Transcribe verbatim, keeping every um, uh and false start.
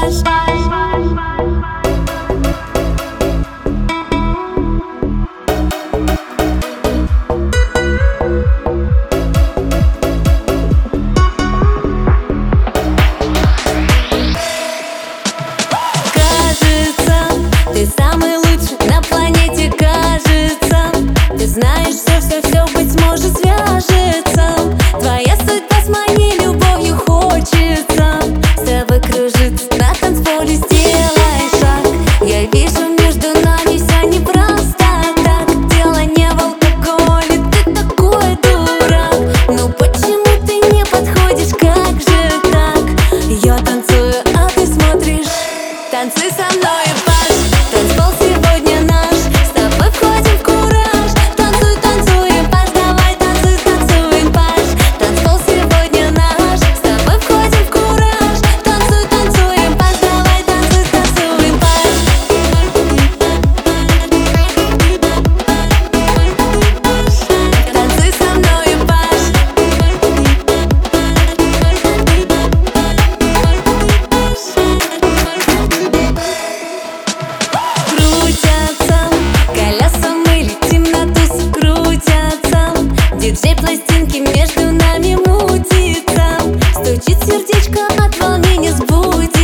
Ты самый лучший на планете, кажется. Ты знаешь, все-все-все, быть может, свяжется. Твоя судьба с моей любовью хочется с тобой кружиться на танцполе, сделай шаг. Я вижу, между нами все непросто так. Дело не в алкоголе, ты такой дурак. Ну почему ты не подходишь, как же так? Я танцую, а ты смотришь. Танцуй со мной. Танцпол сегодня наш, с тобой входим в кураж. Танцуй, танцуем, Паш, давай танцуй, танцуем, Паш. Танцпол сегодня наш, с тобой входим в кураж. Танцуй, танцуем, Паш, давай танцуй, танцуем, Паш. Танцуй со мною, Паш. Диджей пластинки между нами мутится. Стучит сердечко, от волнения сбудется.